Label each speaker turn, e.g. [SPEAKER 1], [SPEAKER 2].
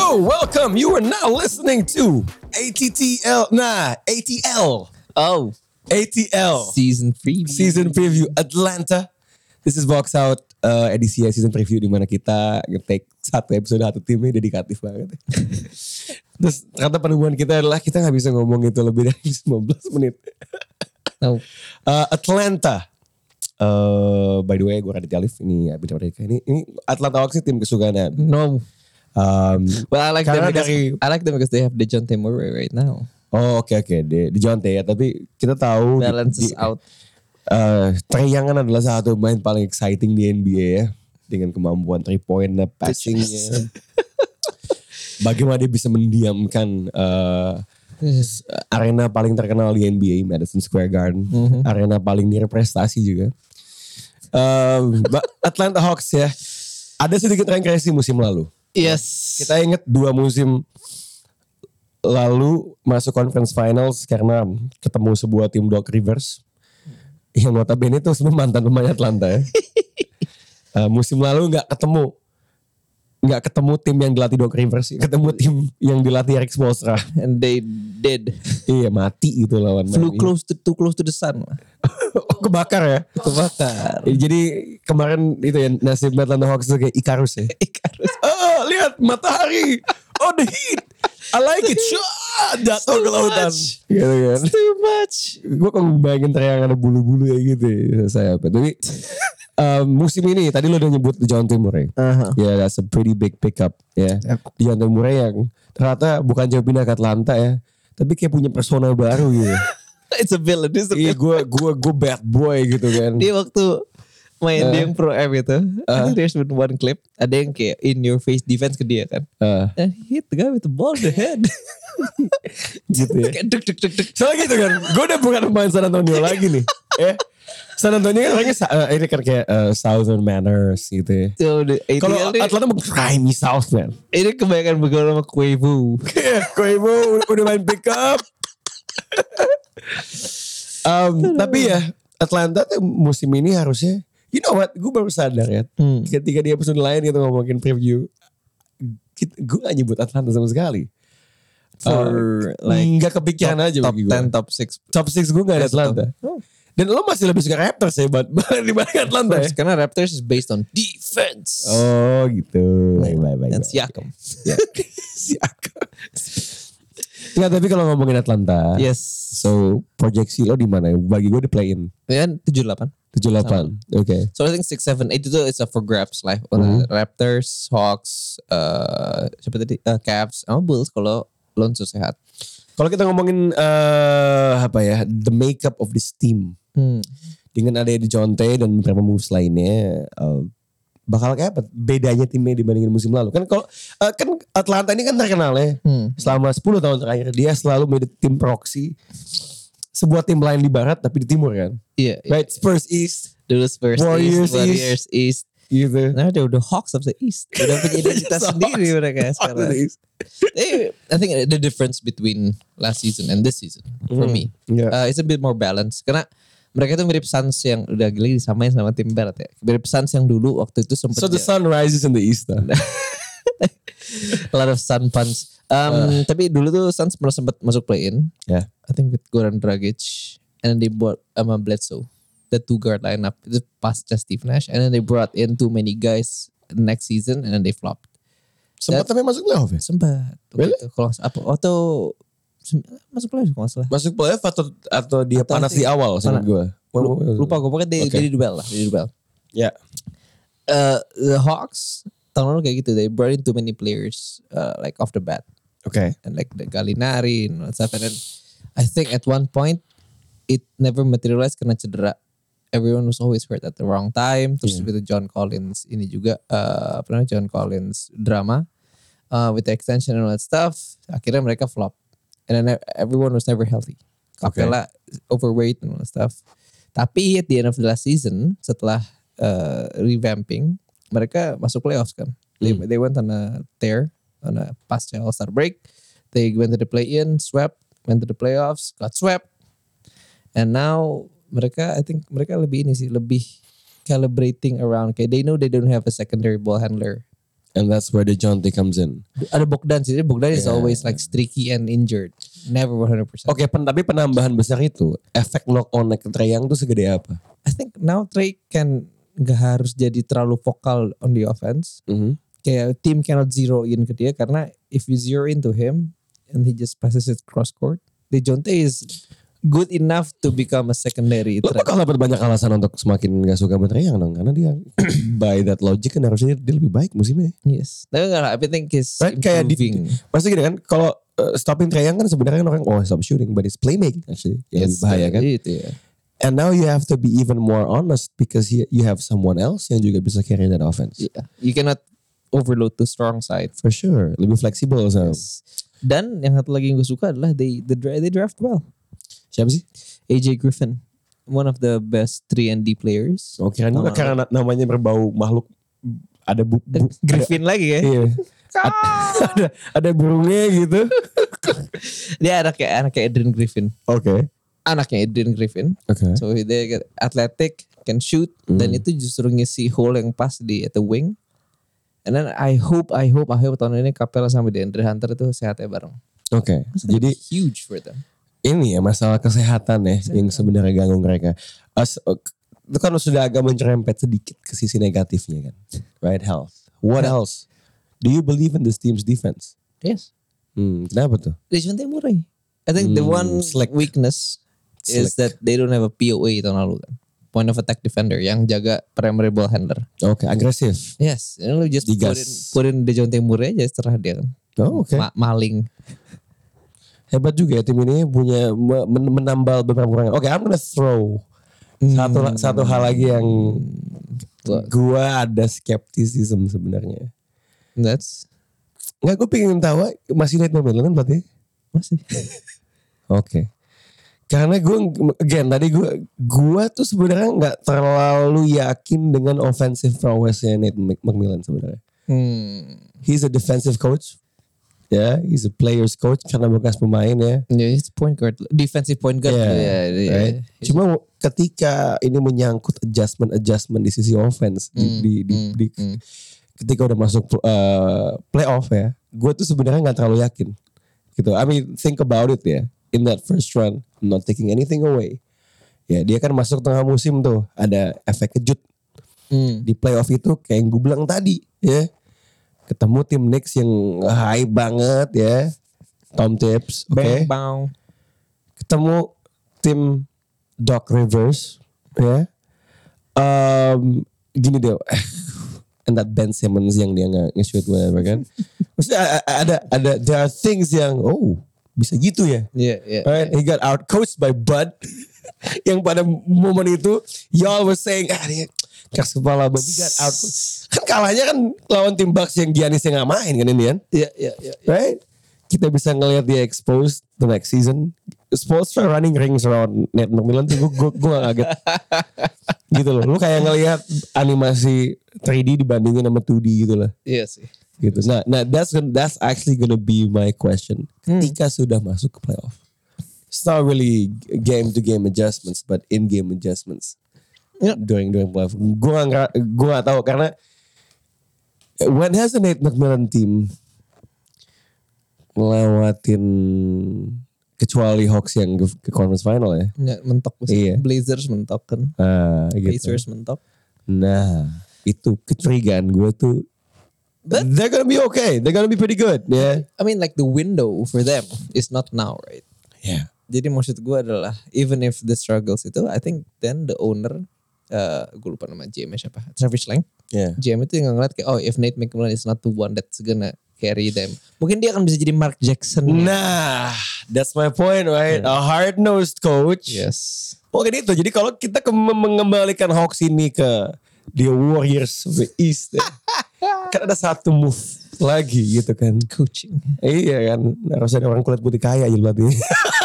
[SPEAKER 1] Yo, welcome. You are now listening to ATL.
[SPEAKER 2] Oh,
[SPEAKER 1] ATL. Season preview Atlanta. This is Box Out edisi season preview di mana kita nge-take satu episode satu timnya dedikatif banget. Terus ternyata penemuan kita adalah kita gak bisa ngomong itu lebih dari 15 menit.
[SPEAKER 2] no.
[SPEAKER 1] Atlanta. By the way, gue Raditya Alif. Ini Abid Merdeka. Ini Atlanta Hawks tim kesukaan.
[SPEAKER 2] No. Well, I like them because they have DeJounte Murray right now.
[SPEAKER 1] Oh, oke. DeJounte ya. Tapi kita tahu
[SPEAKER 2] balances out.
[SPEAKER 1] Trae Young adalah satu pemain paling exciting di NBA ya, dengan kemampuan 3-point passingnya. Bagaimana dia bisa mendiamkan arena paling terkenal di NBA, Madison Square Garden, arena paling nirprestasi juga. Atlanta Hawks ya, ada sedikit regresi musim lalu.
[SPEAKER 2] Yes.
[SPEAKER 1] Kita ingat 2 musim lalu masuk conference finals karena ketemu sebuah tim Doc Rivers. Yang notabene itu semua mantan pemain Atlanta ya. Musim lalu gak ketemu tim yang dilatih Doc Rivers, ketemu tim yang dilatih Erik Spoelstra.
[SPEAKER 2] And they did.
[SPEAKER 1] Iya, mati gitu lawan.
[SPEAKER 2] Flew too close to the sun.
[SPEAKER 1] Kebakar ya. Jadi kemarin itu ya nasib Atlanta Hawks itu kayak Icarus ya. Oh, lihat matahari. Oh, the heat. I like it. Jatuh ke lautan. Gitu kan.
[SPEAKER 2] It's too much.
[SPEAKER 1] Gue kok bayangin teriak ada bulu-bulu kayak gitu ya. Saya apa. Tapi musim ini tadi lo udah nyebut DeJounte Murray. Ya, that's a pretty big pickup ya. DeJounte Murray yang ternyata bukan jauh pindah ke Atlanta ya. Tapi kayak punya persona baru gitu.
[SPEAKER 2] It's a villain.
[SPEAKER 1] Iya, gue bad boy gitu kan.
[SPEAKER 2] Dia waktu main dia yang Pro M itu, I think there's been one clip, ada yang kayak in your face defense ke dia kan. And he hit the guy with the ball in the head.
[SPEAKER 1] Gitu ya.
[SPEAKER 2] Kayak duk.
[SPEAKER 1] Soalnya gitu kan, gue udah bukan pemain San Antonio lagi nih. San Antonio kan orangnya ini kan kayak Southern manners gitu ya. Kalau Atlanta mau grimy South man.
[SPEAKER 2] Ini kebanyakan bergaul sama Quavo.
[SPEAKER 1] Quavo udah main pick up. Tapi ya Atlanta tuh musim ini harusnya, you know what, gue baru sadar ya. Ketika di episode lain kita ngomongin preview, gue gak nyebut Atlanta sama sekali. Gak kepikiran aja
[SPEAKER 2] top
[SPEAKER 1] bagi gue.
[SPEAKER 2] 10, top 6.
[SPEAKER 1] Top 6 gue gak ada Atlanta. Dan lo masih lebih suka Raptors ya dibanding Atlanta ya.
[SPEAKER 2] Karena Raptors is based on defense.
[SPEAKER 1] Oh gitu. Baik.
[SPEAKER 2] Dan Siakam.
[SPEAKER 1] Siakam. Enggak, tapi kalau ngomongin Atlanta.
[SPEAKER 2] Yes.
[SPEAKER 1] So proyeksi lo di mana? Bagi gue di play-in.
[SPEAKER 2] Ya 78.
[SPEAKER 1] Okay.
[SPEAKER 2] So I think 6, 7, 8 itu it's up for grabs lah. Raptors, Hawks, siapa tadi? Cavs, sama Bulls kalau Lonzo sehat.
[SPEAKER 1] Kalau kita ngomongin the makeup of this team. Dengan ada DeJounte dan beberapa moves lainnya, bakal kayak apa bedanya timnya dibandingin musim lalu? Kan kalau kan Atlanta ini kan terkenal ya. Selama 10 tahun terakhir dia selalu menjadi tim proxy sebuah tim lain di barat tapi di timur kan.
[SPEAKER 2] Iya.
[SPEAKER 1] Right, Spurs East,
[SPEAKER 2] dulu Spurs Warriors East.
[SPEAKER 1] Gitu.
[SPEAKER 2] Nah, udah Hawks of the East. Udah punya identitas sendiri mereka sekarang. I think the difference between last season and this season for me, it's a bit more balanced. Karena mereka tuh mirip Suns yang udah gila disamain sama tim barat ya. Mirip Suns yang dulu waktu itu sempat.
[SPEAKER 1] So the sun rises in the east.
[SPEAKER 2] A lot of sun puns. Tapi dulu tuh Suns pernah sempat masuk play-in.
[SPEAKER 1] Yeah.
[SPEAKER 2] I think with Goran Dragic, and then they bought Bledsoe, the 2 guard lineup. Itu pasca Steve Nash, and then they brought in too many guys next season, and then they flopped.
[SPEAKER 1] Sempat tapi masuk playoff ya?
[SPEAKER 2] Sempat.
[SPEAKER 1] Really?
[SPEAKER 2] Kalau masuk playoff kalau nggak salah.
[SPEAKER 1] Masuk playoff atau dia panas di awal sama gue?
[SPEAKER 2] Lupa gue, pokoknya they did well lah.
[SPEAKER 1] Yeah.
[SPEAKER 2] The Hawks tahun lalu kayak gitu, they brought in too many players like off the bat.
[SPEAKER 1] Okay.
[SPEAKER 2] And like the Gallinari and stuff, and then I think at one point it never materialized karena cedera. Everyone was always hurt at the wrong time. Terus with John Collins ini juga John Collins drama with the extension and all that stuff. Akhirnya mereka flop, and then everyone was never healthy. Capella overweight and all that stuff. Tapi at the end of the last season, setelah revamping, mereka masuk playoffs kan. They went on a tear on a past All-Star break. They went to the play-in, swept, went to the playoffs, got swept. And now I think mereka lebih calibrating around. Okay, they know they don't have a secondary ball handler
[SPEAKER 1] And that's where DeJounte comes in.
[SPEAKER 2] Ada Bogdan sih. Bogdan is always like streaky and injured. Never 100%.
[SPEAKER 1] Oke, tapi penambahan besar itu, efek knock on ke Trae Young tuh segede apa?
[SPEAKER 2] I think now Trae can gak harus jadi terlalu vokal on the offense. Kayak team cannot zero in ke dia karena if you zero into him and he just passes it cross court, DeJounte is good enough to become a secondary
[SPEAKER 1] Lo
[SPEAKER 2] threat.
[SPEAKER 1] bakal dapat banyak alasan untuk semakin gak suka sama Trae Young dong, karena dia by that logic kan harusnya dia lebih baik musimnya.
[SPEAKER 2] Yes. Tapi enggak lah, I think he's
[SPEAKER 1] Right? Kayak
[SPEAKER 2] improving.
[SPEAKER 1] Maksudnya gini kan, kalau stopping Trae Young kan sebenarnya orang stop shooting, but it's playmaking actually yang lebih bahaya kan.
[SPEAKER 2] Itu ya.
[SPEAKER 1] And now you have to be even more honest because you have someone else yang juga bisa carry that offense.
[SPEAKER 2] Yeah. You cannot overload the strong side.
[SPEAKER 1] For sure, lebih fleksibel so.
[SPEAKER 2] Yes. Dan yang satu lagi yang gue suka adalah they draft well.
[SPEAKER 1] Siapa sih?
[SPEAKER 2] AJ Griffin, one of the best 3 and D players.
[SPEAKER 1] Oh, kira karena namanya berbau makhluk ada
[SPEAKER 2] Griffin lagi ya.
[SPEAKER 1] Iya. ada burungnya gitu.
[SPEAKER 2] Dia anaknya Adrian Griffin.
[SPEAKER 1] Oke.
[SPEAKER 2] Anaknya Adrian Griffin.
[SPEAKER 1] Oke.
[SPEAKER 2] So dia athletic, can shoot, dan itu justru ngisi hole yang pas at the wing. And then I hope tahun ini Capella sama DeAndre Hunter itu sehatnya bareng.
[SPEAKER 1] Oke. Jadi
[SPEAKER 2] huge for them.
[SPEAKER 1] ini ya masalah kesehatan ya yang sebenarnya ganggu mereka. Itu kan sudah agak mencerempet sedikit ke sisi negatifnya kan. Right, health. What else? Do you believe in this team's defense?
[SPEAKER 2] Yes.
[SPEAKER 1] Kenapa tuh?
[SPEAKER 2] DeJounte Murray. I think the one weakness is that they don't have a POA tahun lalu kan. Point of attack defender yang jaga primary ball handler.
[SPEAKER 1] Oke, agresif.
[SPEAKER 2] Yes, lu just put in DeJounte Murray aja serah dia kan.
[SPEAKER 1] Oh, oke.
[SPEAKER 2] Maling.
[SPEAKER 1] Hebat juga ya tim ini punya menambal beberapa orang. Oke, I'm gonna throw satu hal lagi yang gua ada skeptisism sebenarnya. Nggak, gue pengen tahu masih Nate McMillan kan berarti?
[SPEAKER 2] Masih.
[SPEAKER 1] Oke. Karena tadi gue tuh sebenarnya nggak terlalu yakin dengan offensive prowessnya Nate McMillan sebenarnya. He's a defensive coach. Ya, he's a players coach karena bekas pemain ya.
[SPEAKER 2] Yeah, he's point guard, defensive point guard.
[SPEAKER 1] Right? Cuma ketika ini menyangkut adjustment di sisi offense ketika udah masuk playoff ya, gue tuh sebenarnya nggak terlalu yakin. Gitu. I mean, think about it ya. In that first run, I'm not taking anything away. Ya, dia kan masuk tengah musim tuh, ada efek kejut. Di playoff itu kayak yang gue bilang tadi ya. Ketemu tim Knicks yang high banget ya. Tom Tibbs, oke. Ketemu tim Doc Rivers ya. Gini deh. And that Ben Simmons yang dia nge-shoot whatever kan. Maksudnya ada there are things yang bisa gitu ya.
[SPEAKER 2] Yeah.
[SPEAKER 1] Right? He got out coached by Bud. Yang pada momen itu y'all was saying dia keras kepala, but he got out coached. Kan kalahnya kan lawan tim Bucks yang Giannis yang gak main kan ini kan.
[SPEAKER 2] Iya.
[SPEAKER 1] Right? Kita bisa ngelihat dia exposed the next season. Spoelstra running rings around Nate McMillan tuh gue gak kaget. Gitu loh. Lu kayak ngelihat animasi 3D dibandingin sama 2D gitu lah.
[SPEAKER 2] Iya sih.
[SPEAKER 1] Gitu. Nah that's actually gonna be my question. Ketika sudah masuk ke playoff. It's not really game to game adjustments but in game adjustments. During playoff. Gue gak tahu karena when has a Nate McMillan team ngelewatin kecuali Hawks yang ke conference final ya.
[SPEAKER 2] Mentok
[SPEAKER 1] iya.
[SPEAKER 2] Blazers mentok kan.
[SPEAKER 1] Gitu.
[SPEAKER 2] Blazers mentok.
[SPEAKER 1] Nah, itu kecurigaan gue tuh. But they're gonna be okay. They're gonna be pretty good. Yeah.
[SPEAKER 2] I mean like the window for them is not now, right?
[SPEAKER 1] Yeah.
[SPEAKER 2] Jadi maksud gue adalah even if the struggles itu, I think then the owner, gue lupa nama GM-nya siapa, Travis Lang.
[SPEAKER 1] Yeah.
[SPEAKER 2] GM itu yang ngeliat kayak if Nate McMillan is not the one that's gonna carry them, mungkin dia akan bisa jadi Mark Jackson.
[SPEAKER 1] Nah, that's my point, right? Yeah. A hard-nosed coach.
[SPEAKER 2] Yes.
[SPEAKER 1] Oke itu. Jadi kalau kita mengembalikan Hawks ini ke the Warriors of the East, kan ada satu move lagi gitu kan.
[SPEAKER 2] Coaching.
[SPEAKER 1] Iya kan, harus ada orang kulit putih kaya aja berarti.